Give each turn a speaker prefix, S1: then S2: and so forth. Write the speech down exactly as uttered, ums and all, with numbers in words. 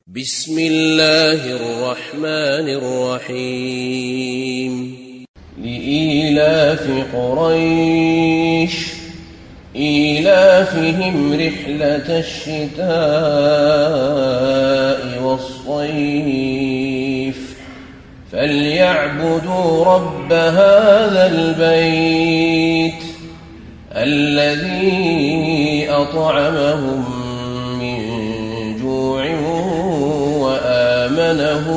S1: بسم الله الرحمن الرحيم لإيلاف قريش إيلافهم رحلة الشتاء والصيف فليعبدوا رب هذا البيت الذي أطعمهم من جوع وآمنهم